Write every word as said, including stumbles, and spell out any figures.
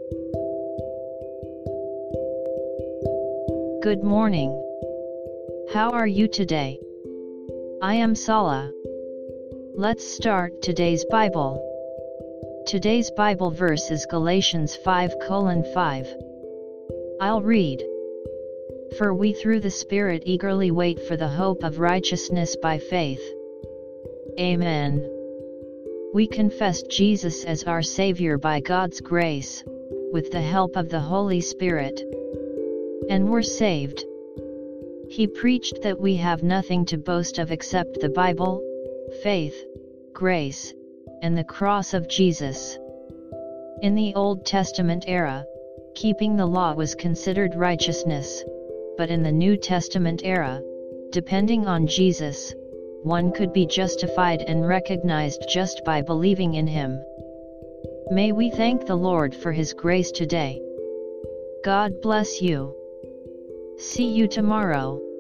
Good morning. How are you today? I am Sala. Let's start today's Bible. Today's Bible verse is Galatians five colon five. I'll read. For we through the Spirit eagerly wait for the hope of righteousness by faith. Amen. We confess Jesus as our Savior by God's grace, with the help of the Holy Spirit. And we're saved. He preached that we have nothing to boast of except the Bible, faith, grace, and the cross of Jesus. In the Old Testament era, keeping the law was considered righteousness, but in the New Testament era, depending on Jesus, one could be justified and recognized just by believing in Him. May we thank the Lord for His grace today. God bless you. See you tomorrow.